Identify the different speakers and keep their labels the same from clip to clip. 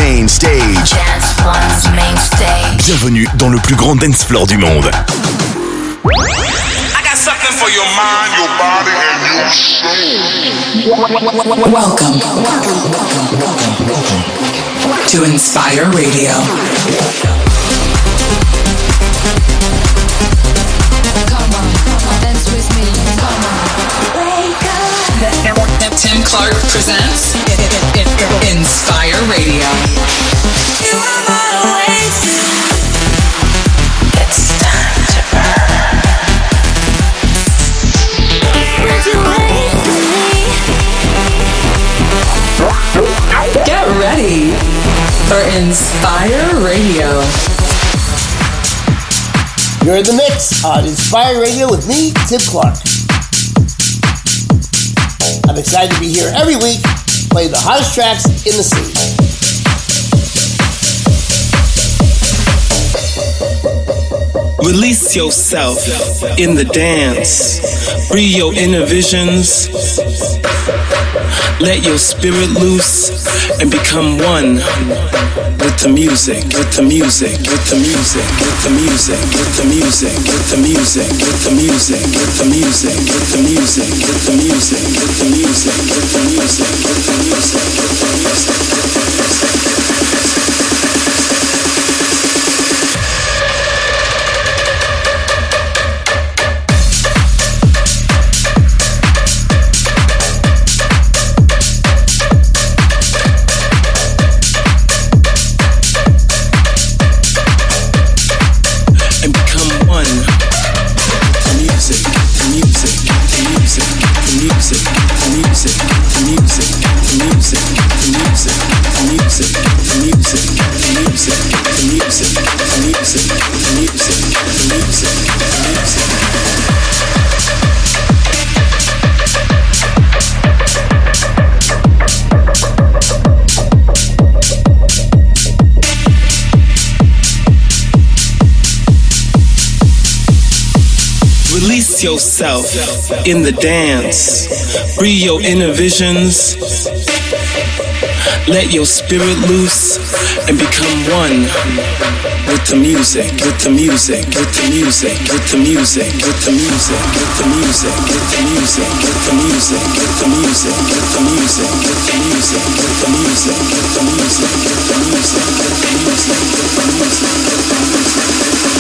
Speaker 1: Main Stage.
Speaker 2: Dance One's Main Stage.
Speaker 1: Bienvenue dans le plus grand dance floor du monde.
Speaker 3: I got something for your mind, your body, and your soul.
Speaker 4: Welcome to Inspire Radio.
Speaker 2: Come on, dance with me. Come on. Wake up.
Speaker 4: Tim Clark presents Inspire Radio.
Speaker 2: You are not wasted. It's time to burn. Would you wait for me?
Speaker 4: Get ready for Inspire Radio.
Speaker 5: You're in the mix on Inspire Radio with me, Tim Clark. I'm excited to be here every week, playing the hottest tracks in the scene.
Speaker 6: Release yourself in the dance. Free your inner visions. Let your spirit loose and become one with the music, with the music, with the music, with the music, with the music, with the music, with the music, with the music, with the music, with the music, with the music, with the music, with the music, with the music. Release yourself in the dance. Free your inner visions. Let your spirit loose and become one with the music, with the music, with the music, with the music, with the music, with the music, with the music, with the music, with the music, with the music, with the music, with the music, with the music, with the music, with the music, with the music.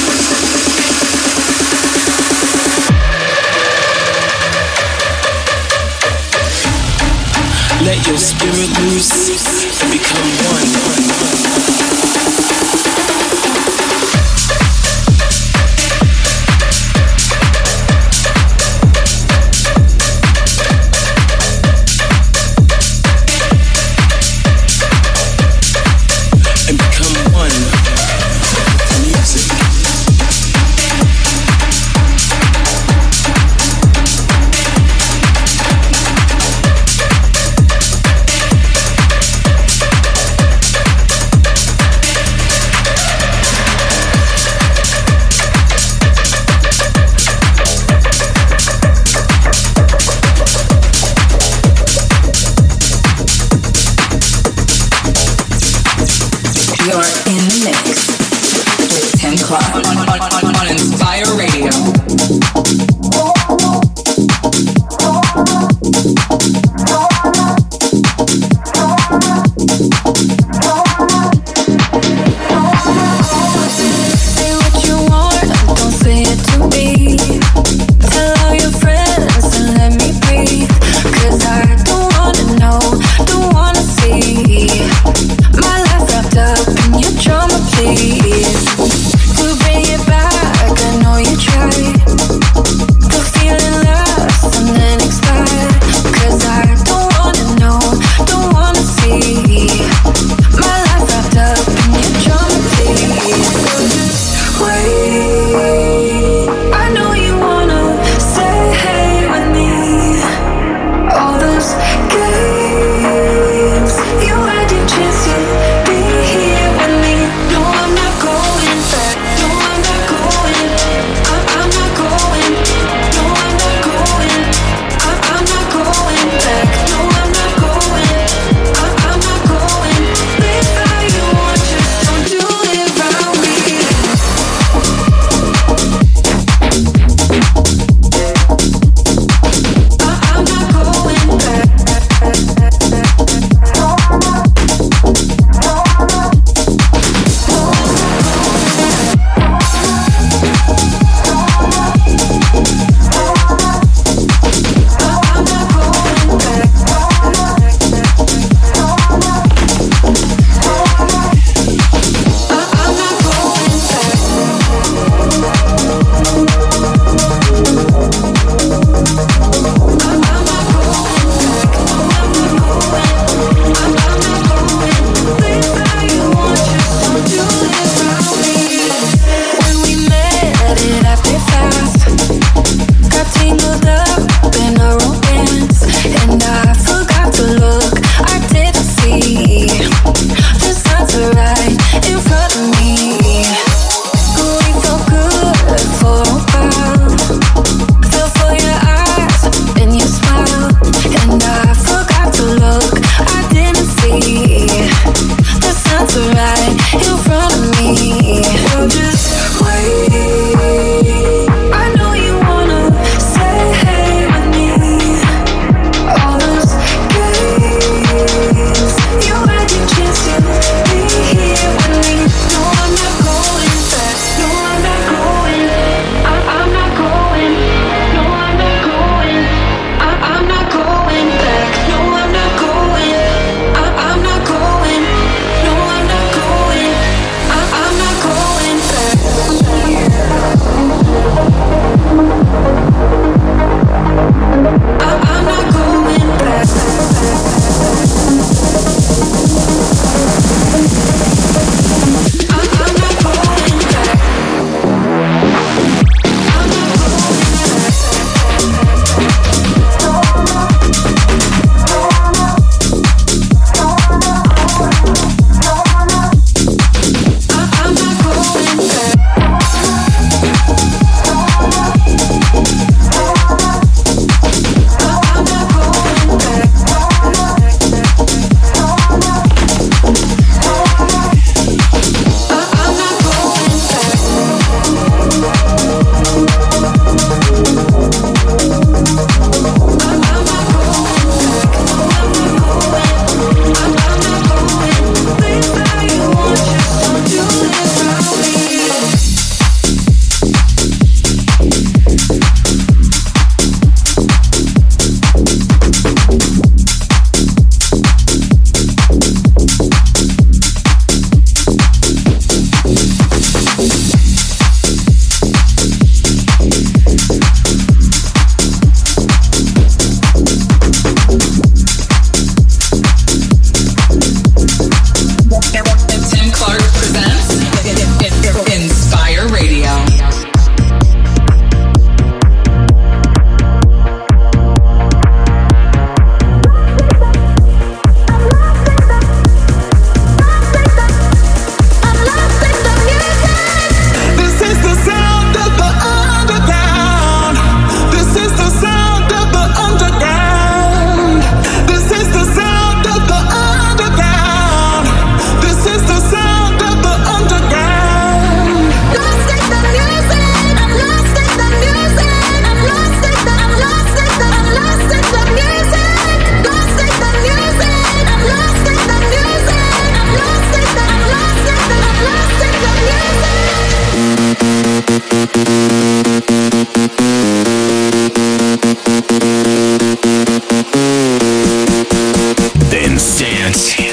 Speaker 6: Let your spirit loose and become one.
Speaker 4: On Inspire Radio.
Speaker 2: Please, to bring it back, I know you tried.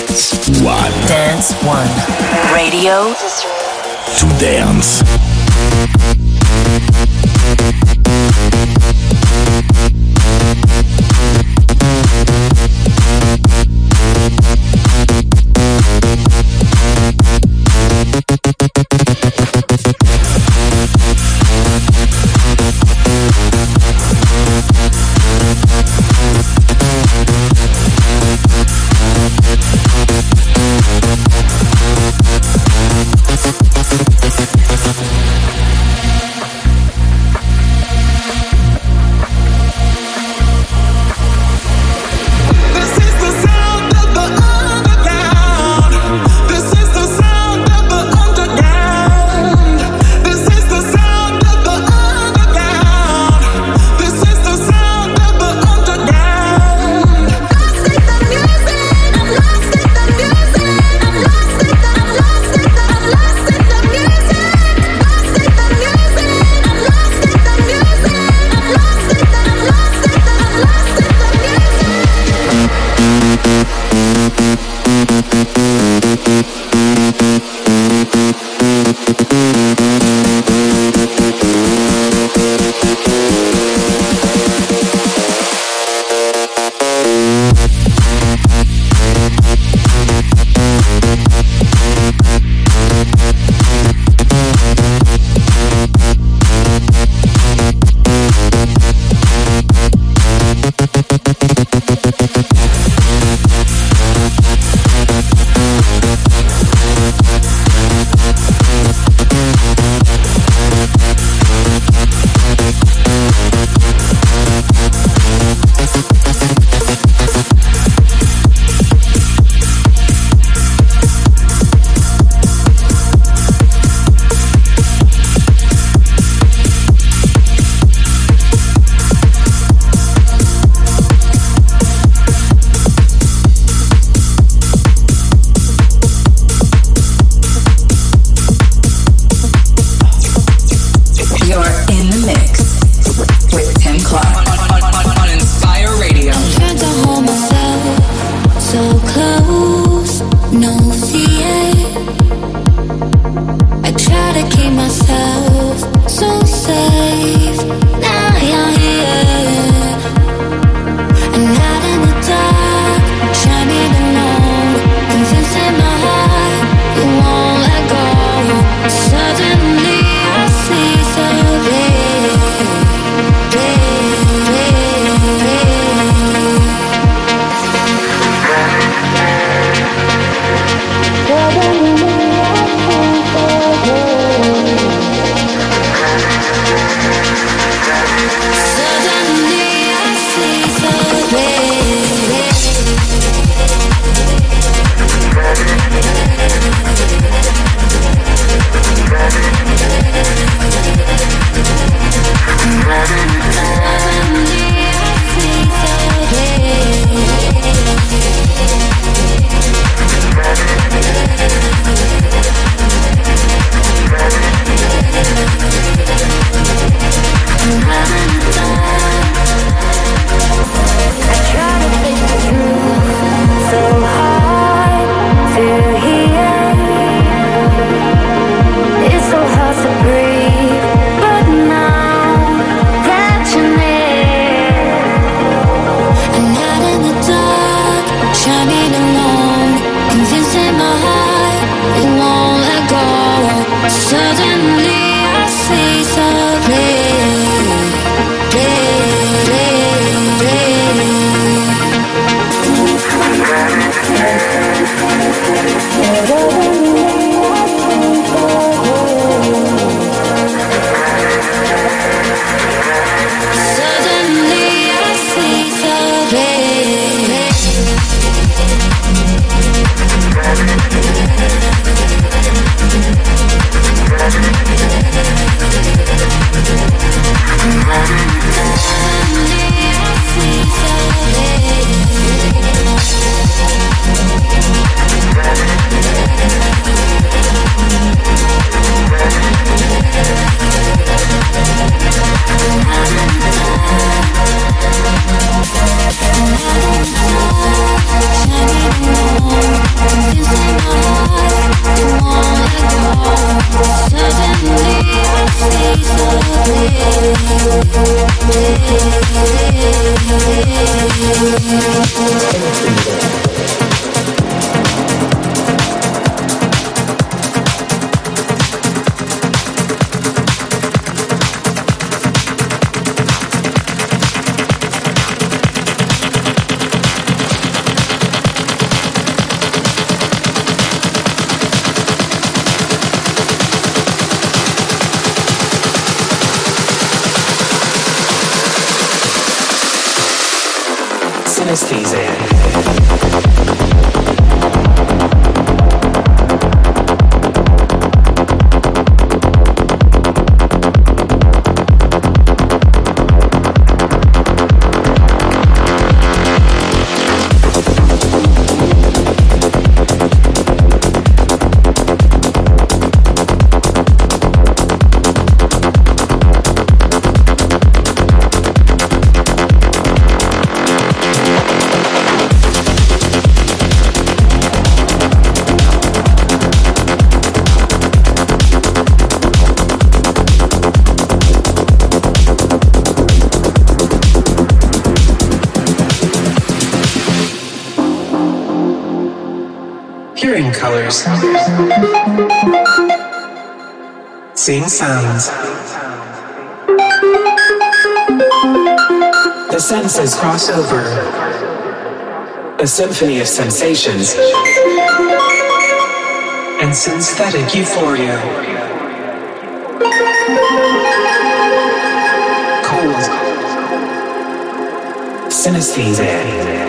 Speaker 1: Dance One.
Speaker 7: Dance One. Radio
Speaker 1: To dance.
Speaker 8: Hearing colors. Seeing sounds. The senses cross over. A symphony of sensations and synthetic euphoria. Cold. Synesthesia.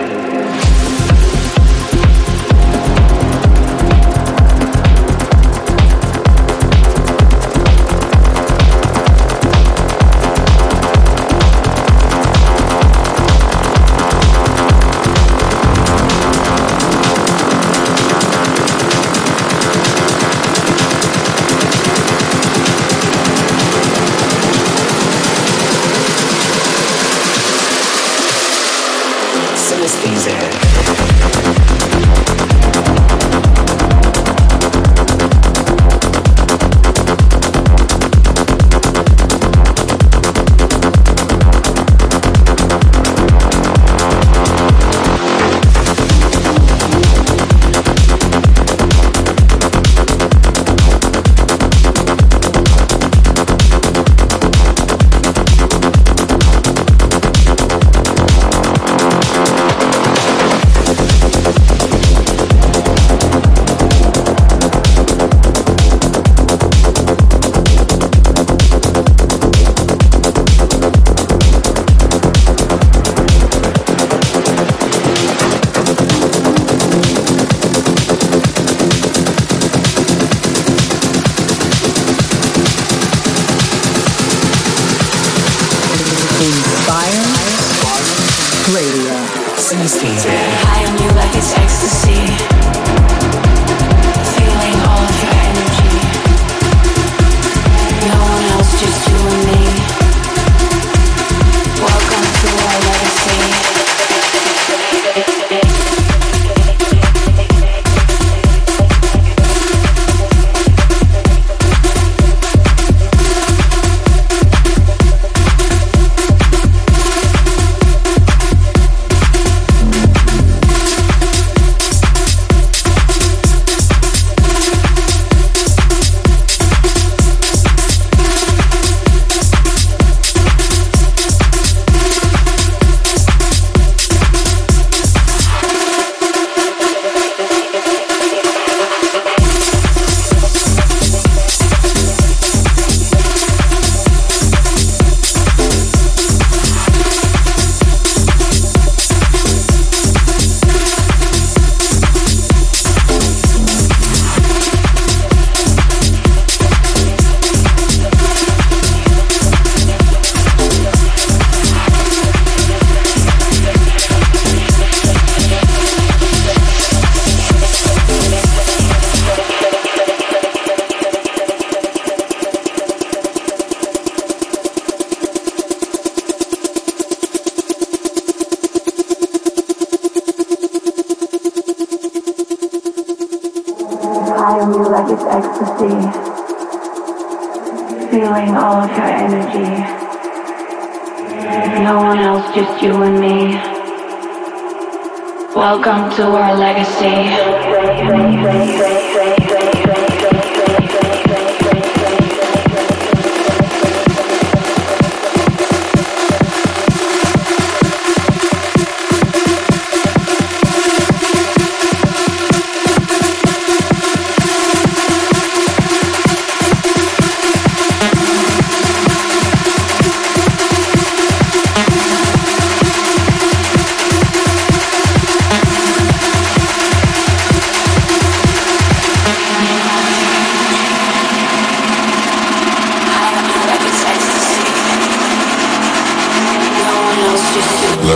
Speaker 2: High on you like it's ecstasy. Feeling all of your energy. No one else, just you and me. Welcome to our legacy. Feeling all of your energy. No one else, just you and me. Welcome to our legacy.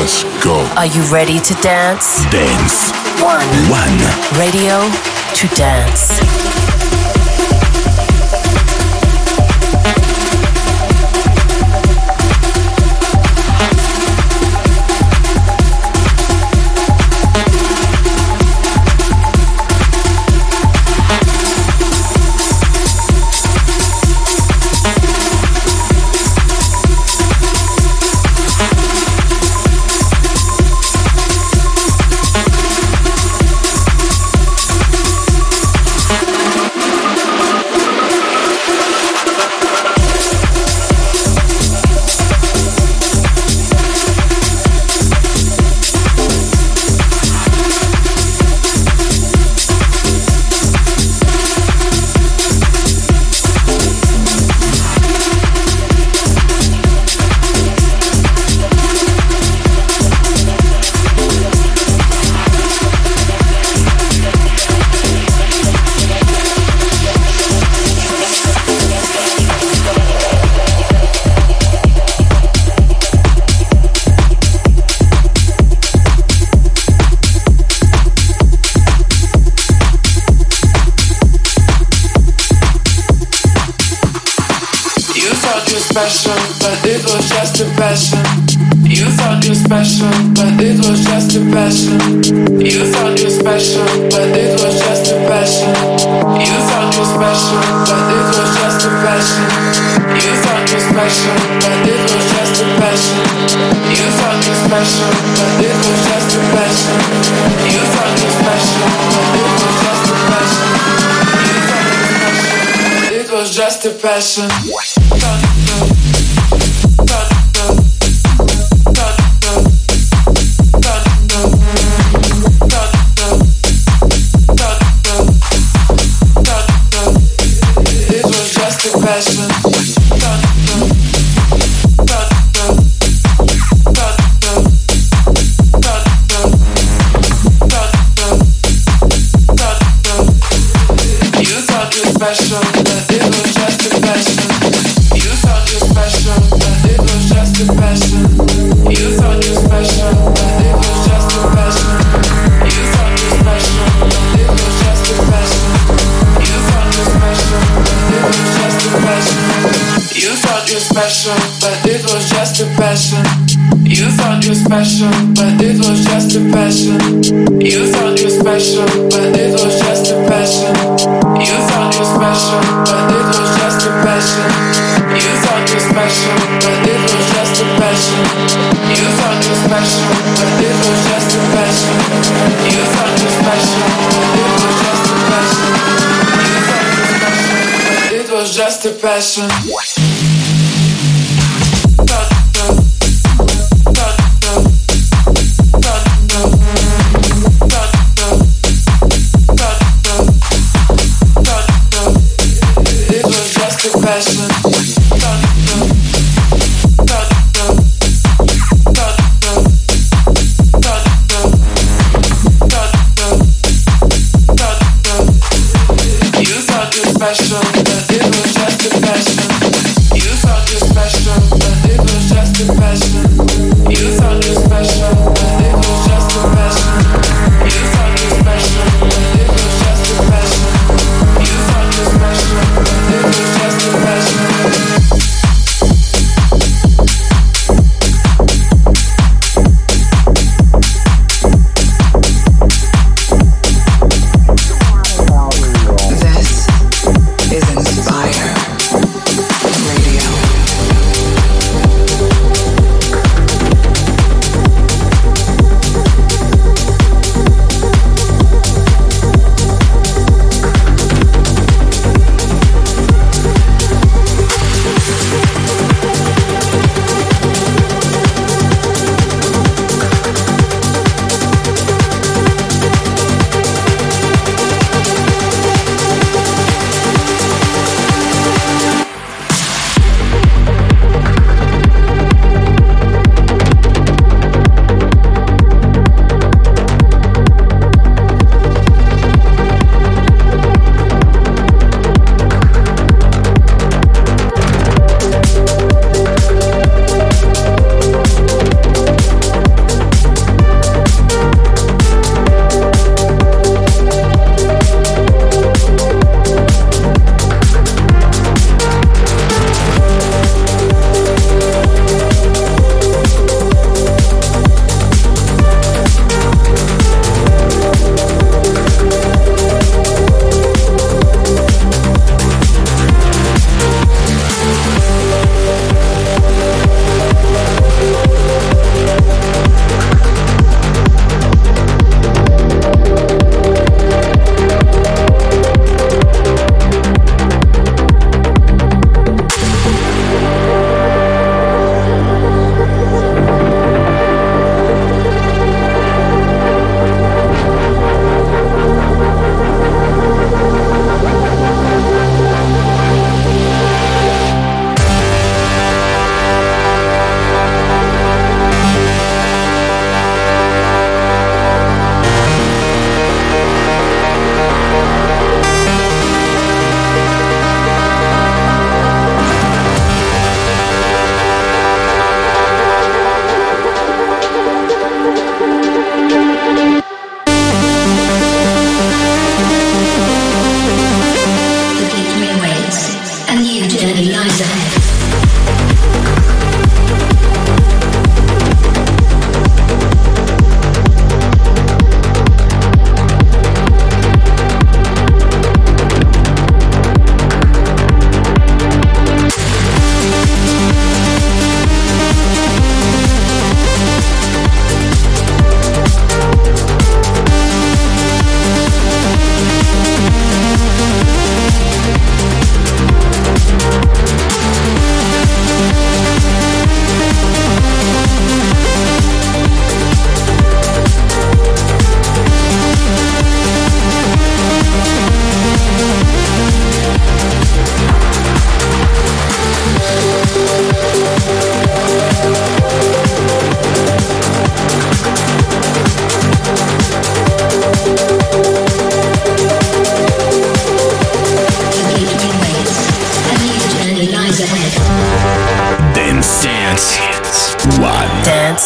Speaker 1: Let's go.
Speaker 7: Are you ready to dance?
Speaker 1: Dance.
Speaker 7: One. Radio to dance.
Speaker 9: Special, but it was just a passion. You thought you special, but it was just a passion. You thought you special, but it was just a passion. You thought you special, but it was just a passion. You thought you special, but it was just a passion. You thought you special, but it was just a passion. You thought you special, but it was just a passion. You thought you special, but it was just a passion. Special, but it was just a passion. You thought you special, but it was just a passion. You thought you special, but it was just a passion. You thought you special, but it was just a passion. You thought you special, but it was just a passion. You thought you special, but it was just a passion. You thought you special, but it was just a passion. You thought you special, but it was just a passion.
Speaker 4: Is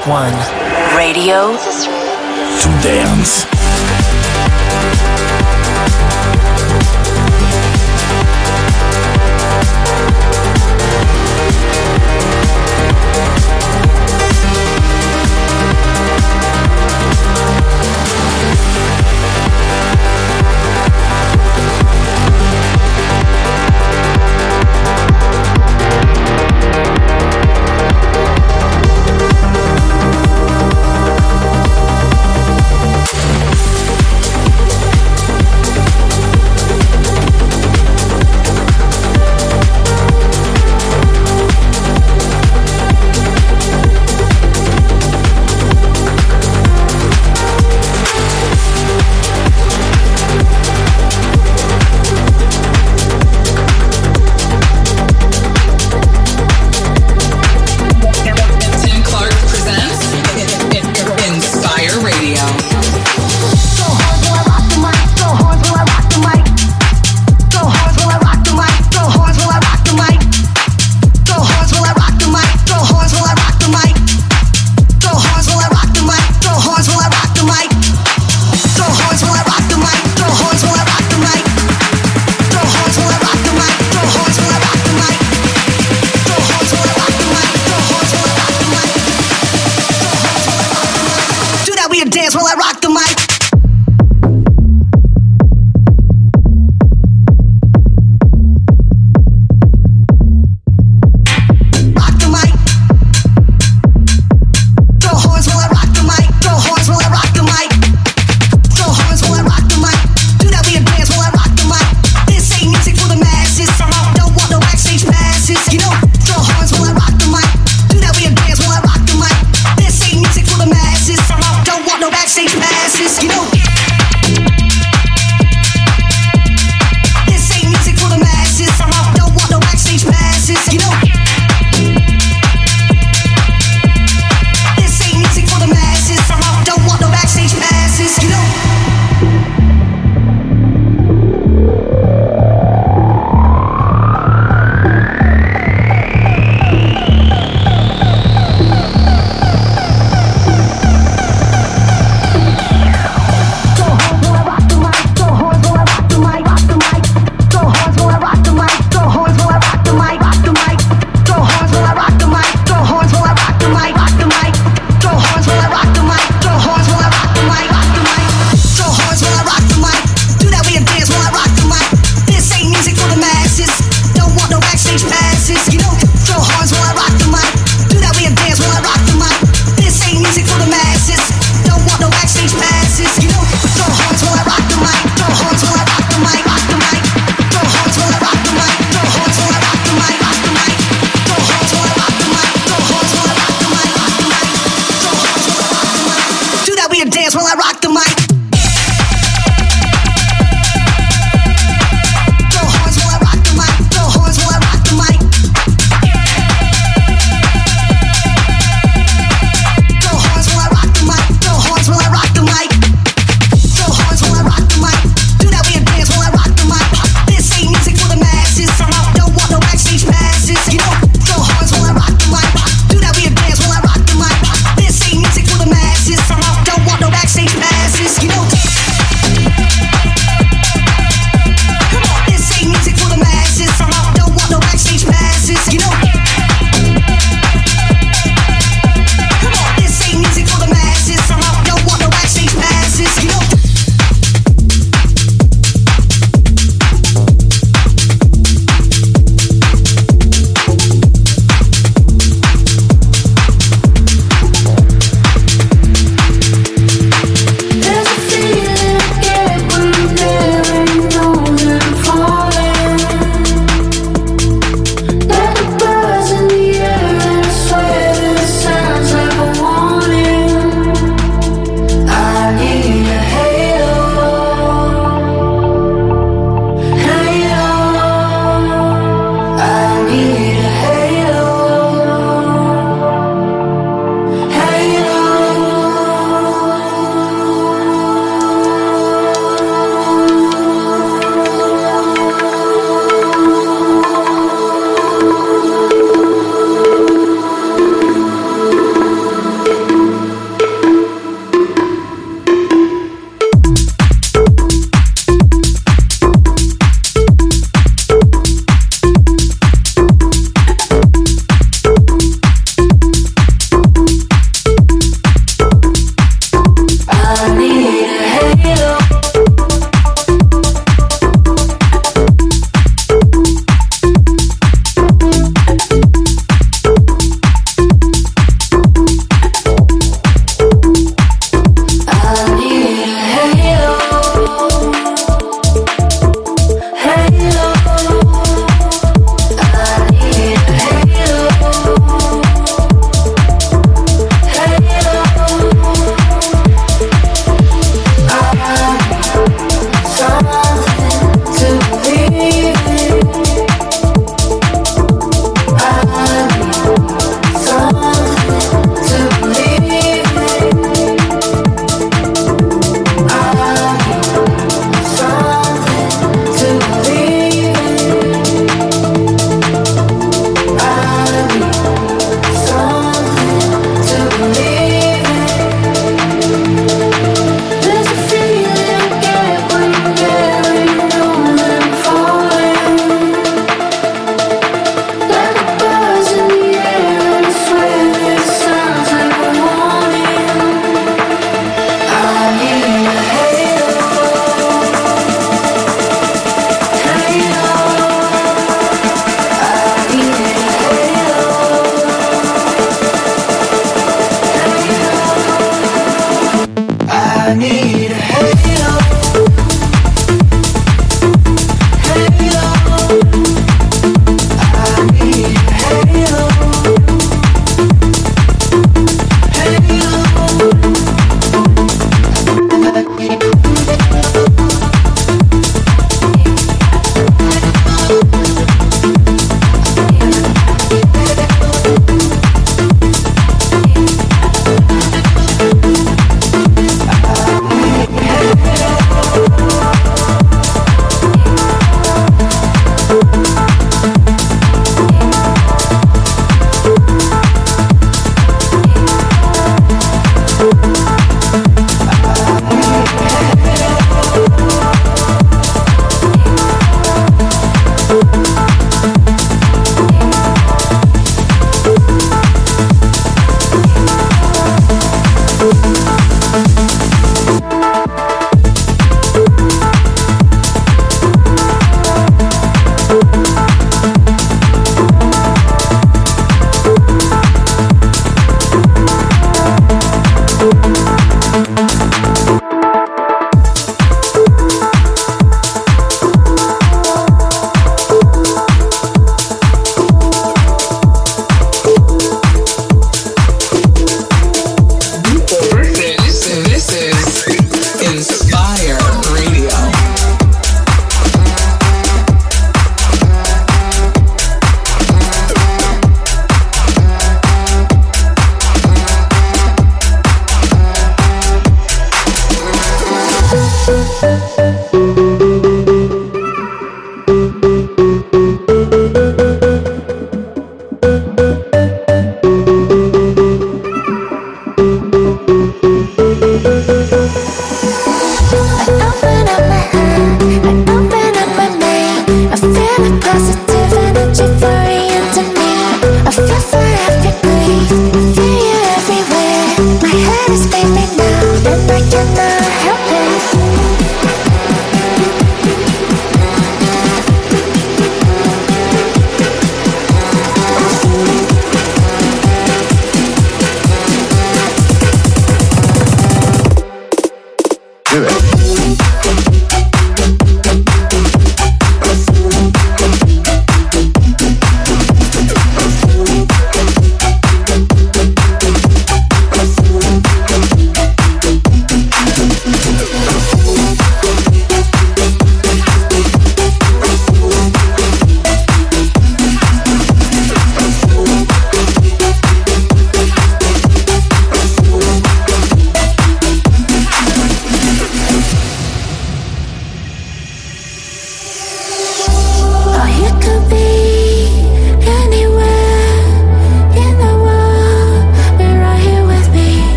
Speaker 7: 1. Radio
Speaker 1: to dance.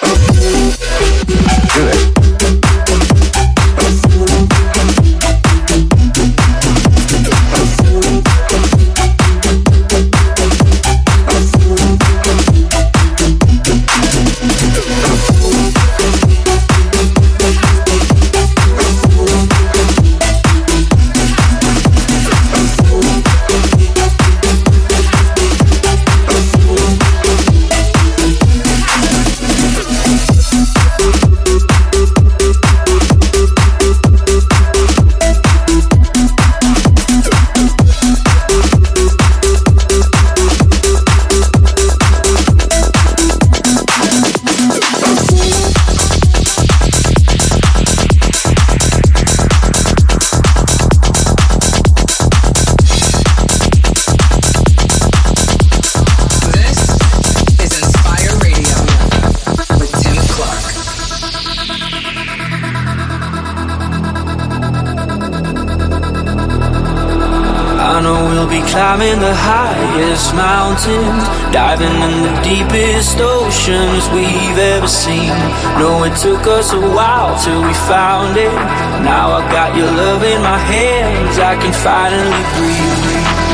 Speaker 10: Do it.
Speaker 11: Climbing the highest mountains, diving in the deepest oceans we've ever seen. No, it took us a while till we found it. Now I got your love in my hands, I can finally breathe.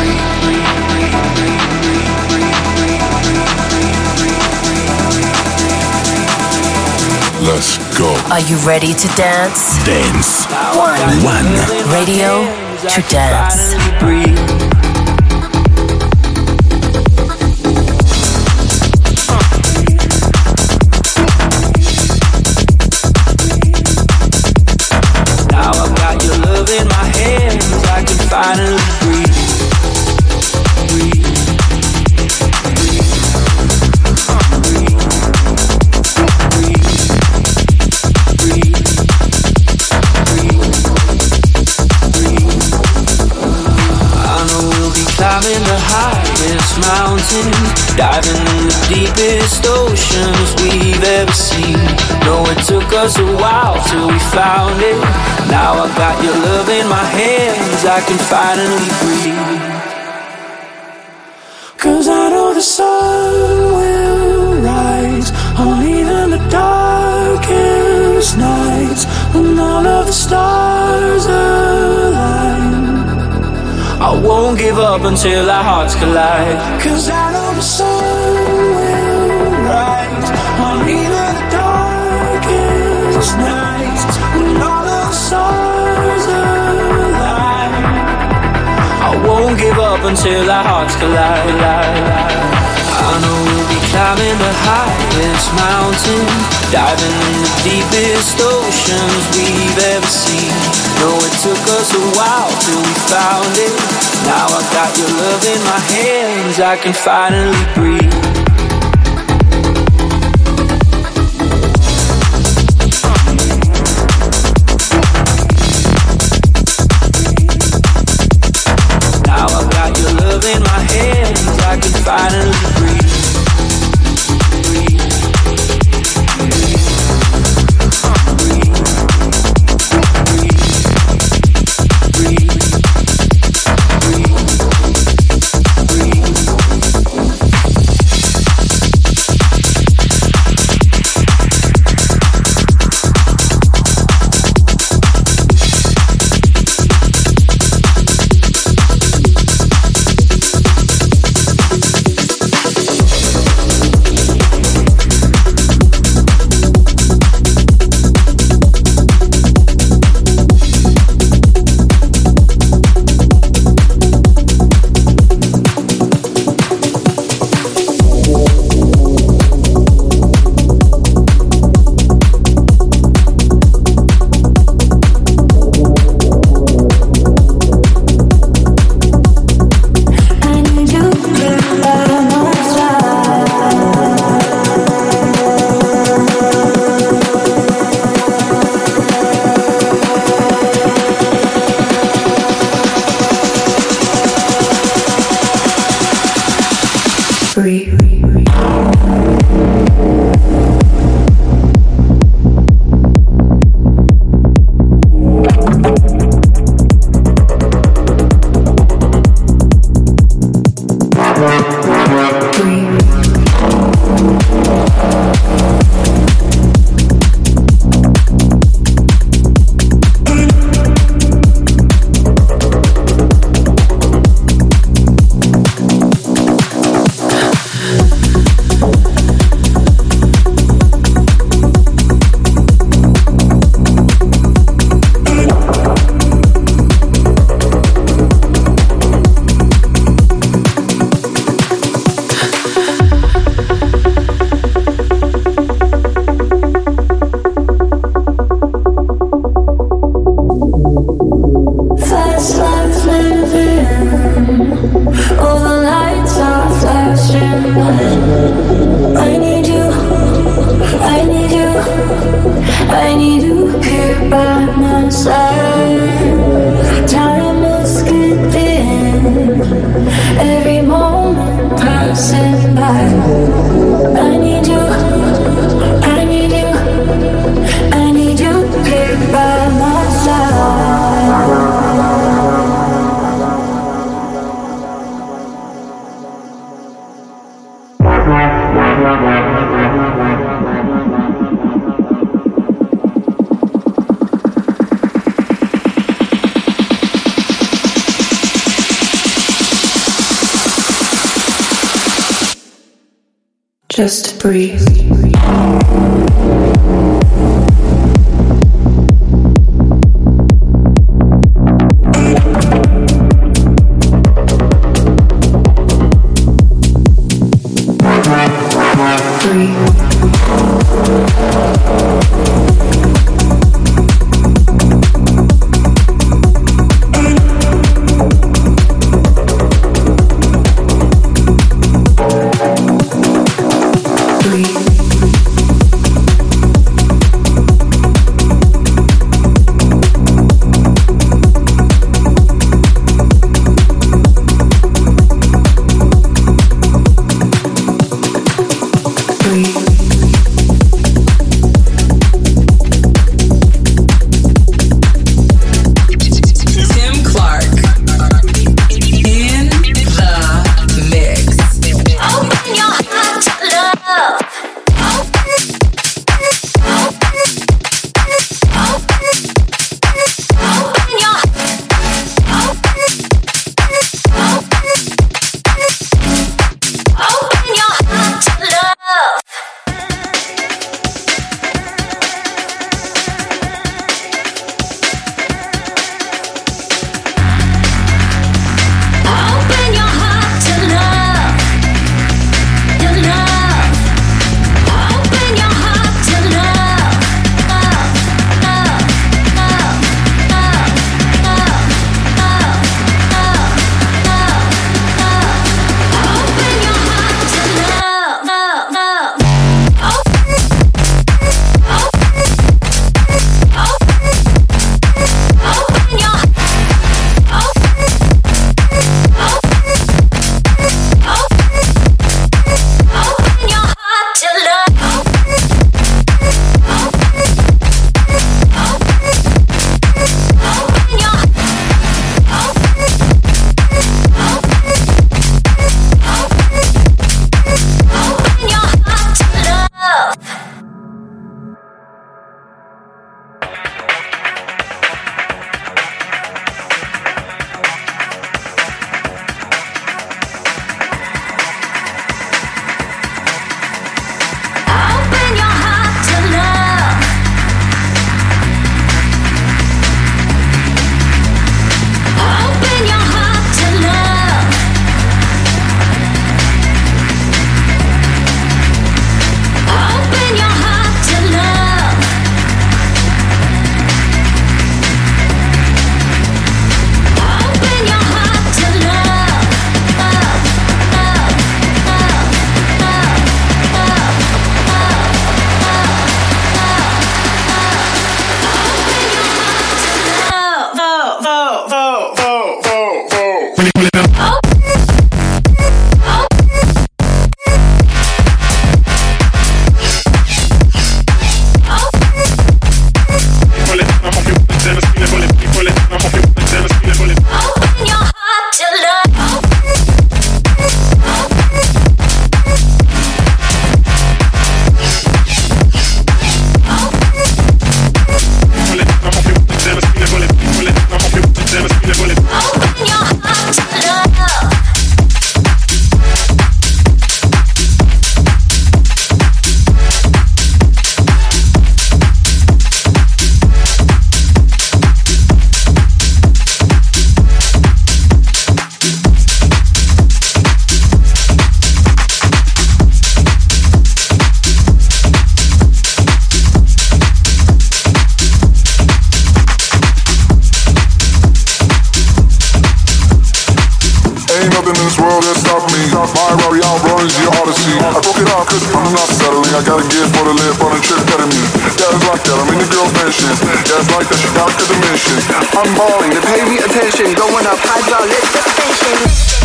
Speaker 1: Let's go.
Speaker 7: Are you ready to dance?
Speaker 1: Dance.
Speaker 7: One. Radio to dance.
Speaker 11: In my hands, I can finally breathe. I know we'll be climbing the highest mountains, diving in the deepest oceans we've ever seen. No, it took us a while till we found it. Now I got your love in my hands, I can finally breathe. 'Cause I know the sun will rise on even the darkest nights, when all of the stars align. I won't give up until our hearts collide. 'Cause I know the sun will rise on even the darkest nights, when all of the stars align. I won't give up until our hearts collide. I know we'll be climbing the highest mountain, diving in the deepest oceans we've ever seen. No, it took us a while till we found it. Now I got your love in my hands, I can finally breathe. Now I got your love in my hands, I can finally breathe. I need you here by my side. Time is skipping, every moment passing by. I need you, I need you, I need you here by my side. Just breathe. Breathe.
Speaker 3: that, I'm in the girl's mansion. Yeah, it's like that, she got the dimensions. I'm balling, they pay me attention. Going up, hydraulic suspension.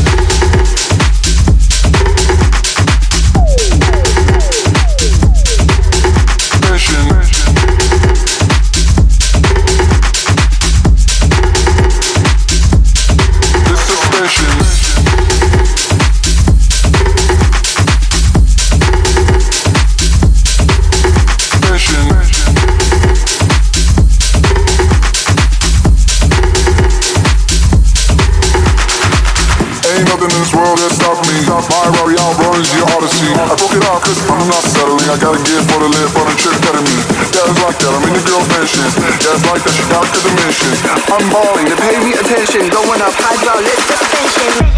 Speaker 3: My Rari outruns your Odyssey. I broke it off cause I'm not settling. I gotta get for the lip on a trip better me. Yeah, it's like that, I'm in the girl's mansion. Yeah, it's like that, she got the dimensions. I'm balling, they pay me attention. Going up, hydraulic suspension.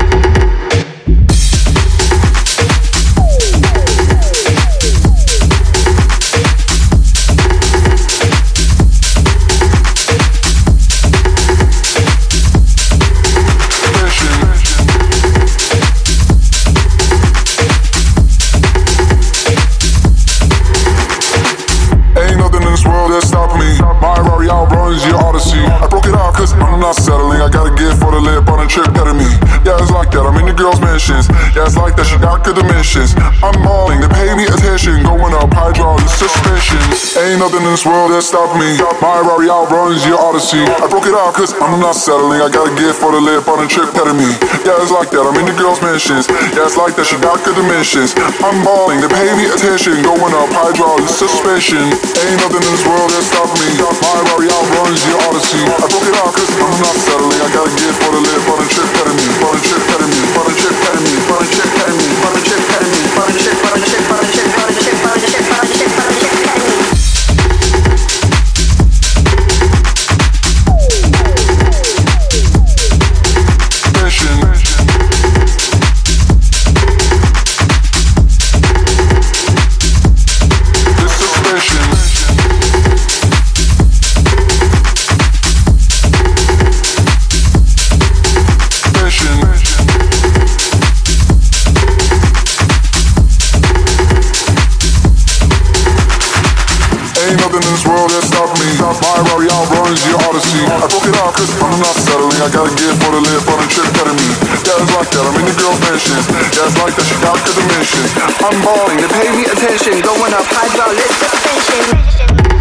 Speaker 3: Your Odyssey. I broke it off cause I'm not settling. I gotta get for the lip on a trip better me. Yeah, it's like that, I'm in the girl's mansions. Yeah, it's like that, she got good dimensions. I'm balling, they pay me attention. Going up, hydraulic suspension. Ain't nothing in this world that stopped me. My Rari outruns your Odyssey. I broke it off cause I'm not settling. I gotta get for the lip on a trip better me. Yeah, it's like that, I'm in the girl's mansions. Yeah, it's like that, she got good dimensions. I'm balling, they pay me attention. Going up, hydraulic suspension. Ain't nothing in this world that stopped me. My Rari outruns your Odyssey. I broke it off cause I'm not settling. I gotta get for the lip on a trip better me. On a trip better me. On a trip better me. On a trip better me. On a trip better me. On a trip, on a trip, on a trip, on a trip, on a trip, on a trip, on a trip better me. My Rari outruns your Odyssey. I broke it off cause I'm not settling. I gotta get for the lip on a trip better me. Yeah, it's like that, I'm in the girl's mansion. Yeah, it's like that, she got the dimensions. I'm balling, they pay me attention. Going up, hydraulic suspension.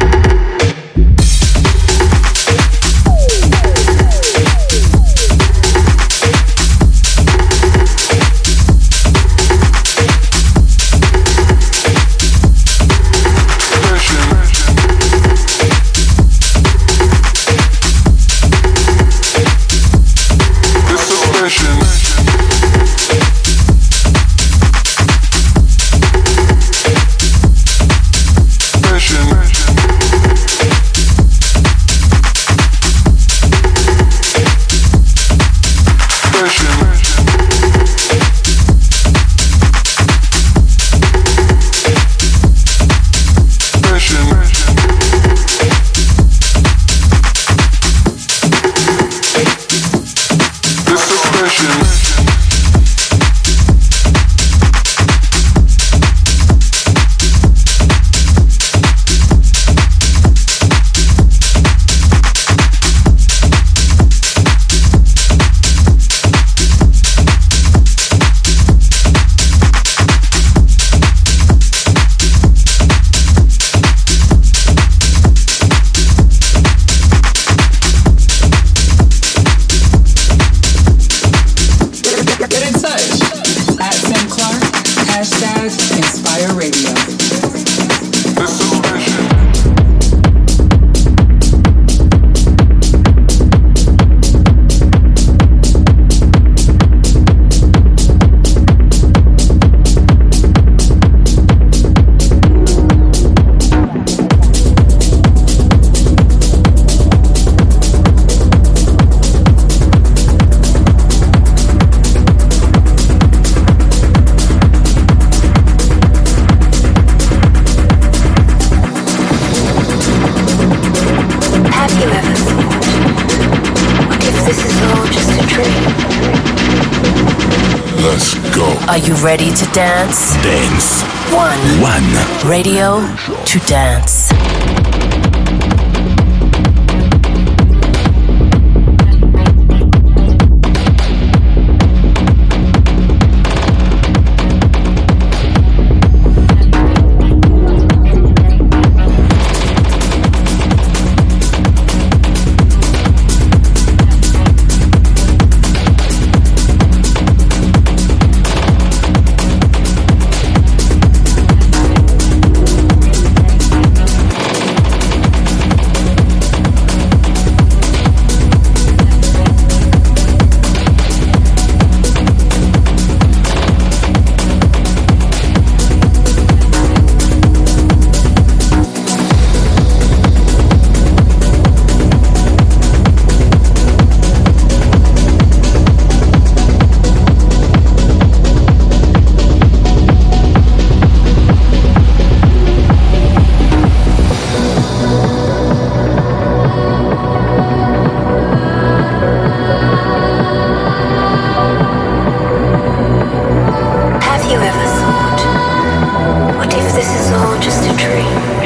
Speaker 7: Are you ready to dance?
Speaker 1: Dance.
Speaker 7: One.
Speaker 1: Radio
Speaker 7: to dance.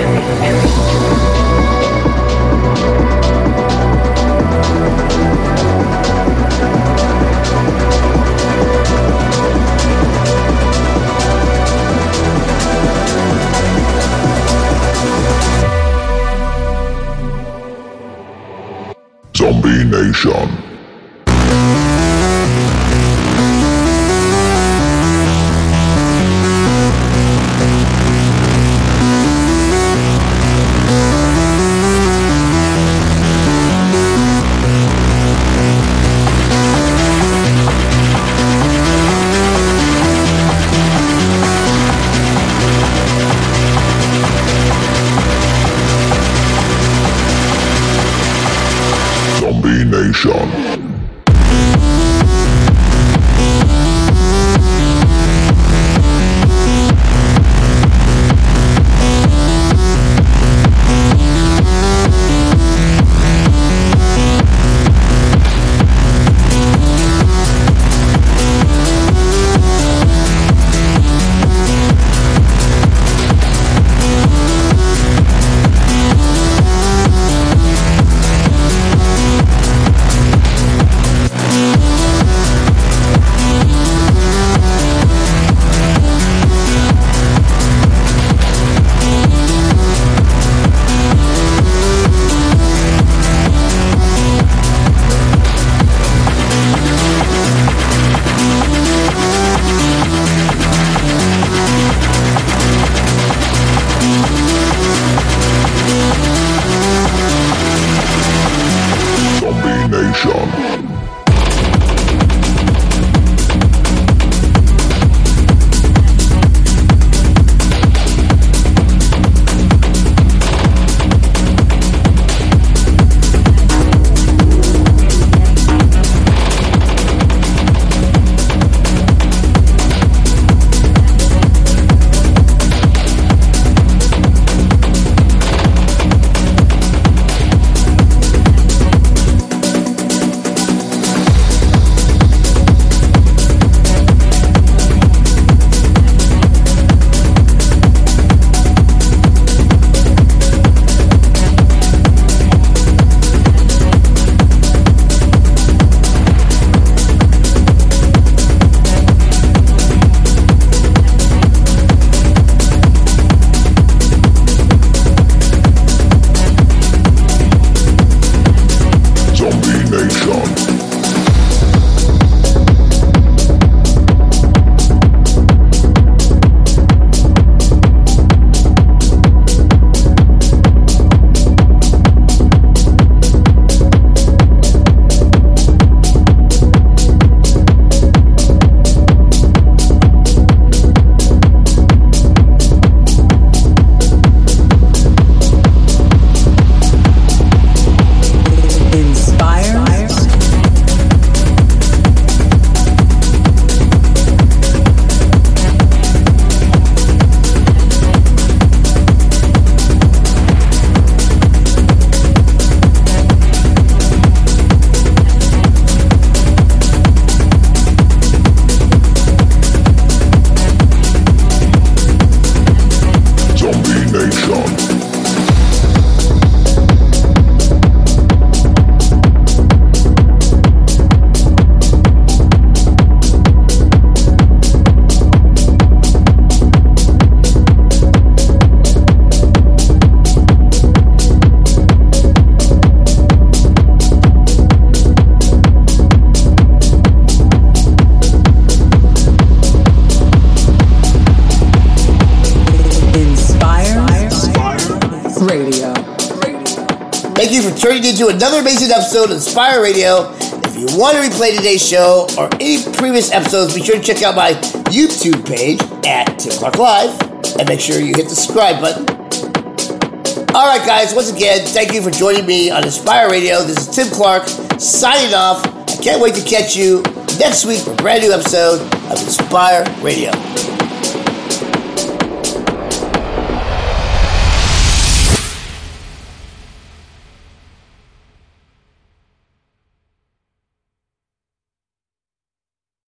Speaker 3: Zombie Nation. Zombie Nation.
Speaker 5: Thank you for tuning in to another amazing episode of Inspire Radio. If you want to replay today's show or any previous episodes, be sure to check out my YouTube page at Tim Clark Live and make sure you hit the subscribe button. Alright guys, once again, thank you for joining me on Inspire Radio. This is Tim Clark signing off. I can't wait to catch you next week for a brand new episode of Inspire Radio.